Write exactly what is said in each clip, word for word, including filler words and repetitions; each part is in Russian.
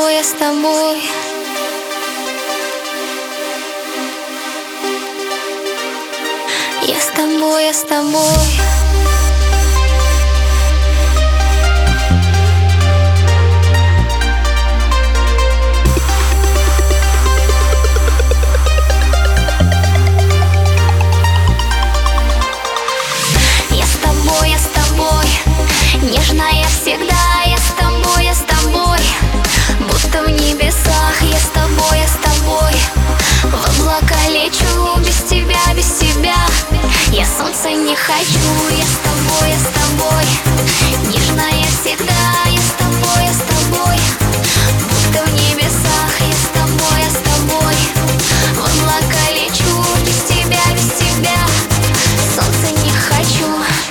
тобой, я с тобой. Я с тобой, я с тобой. Нежная всегда, я с тобой, я с тобой. Будто в небесах, я с тобой, я с тобой. В облака лечу, без тебя, без тебя. Я солнца не хочу, я с тобой, я с тобой. Нежная всегда, я с тобой, я с тобой. Будто в небесах, я с тобой, я с тобой. В облака лечу, без тебя, без тебя. Солнца не хочу.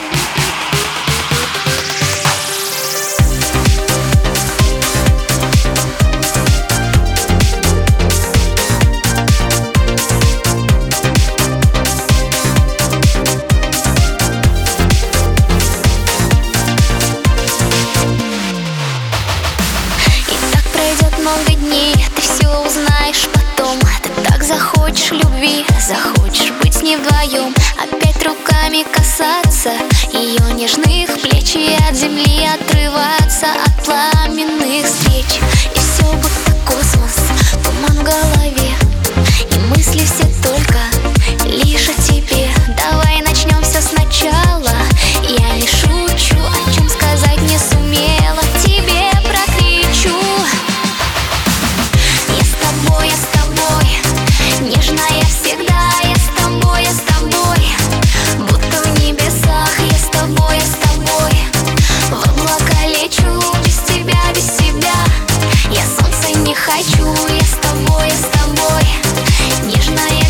Много дней, ты все узнаешь потом. Ты так захочешь любви, захочешь быть с ней вдвоем. Опять руками касаться ее нежных плеч и от земли отрываться от пламенных встреч. И все будто космос, туман в голове, и мысли все только лишь о тебе. Давай начнем все сначала. Я не шучу, о чем сказать не сумела, тебе прокричу. Я с тобой, нежная всегда, я с тобой, я с тобой. Будто в небесах, я с тобой, я с тобой. В облака лечу, без тебя, без тебя. Я солнца не хочу, я с тобой, я с тобой. Нежная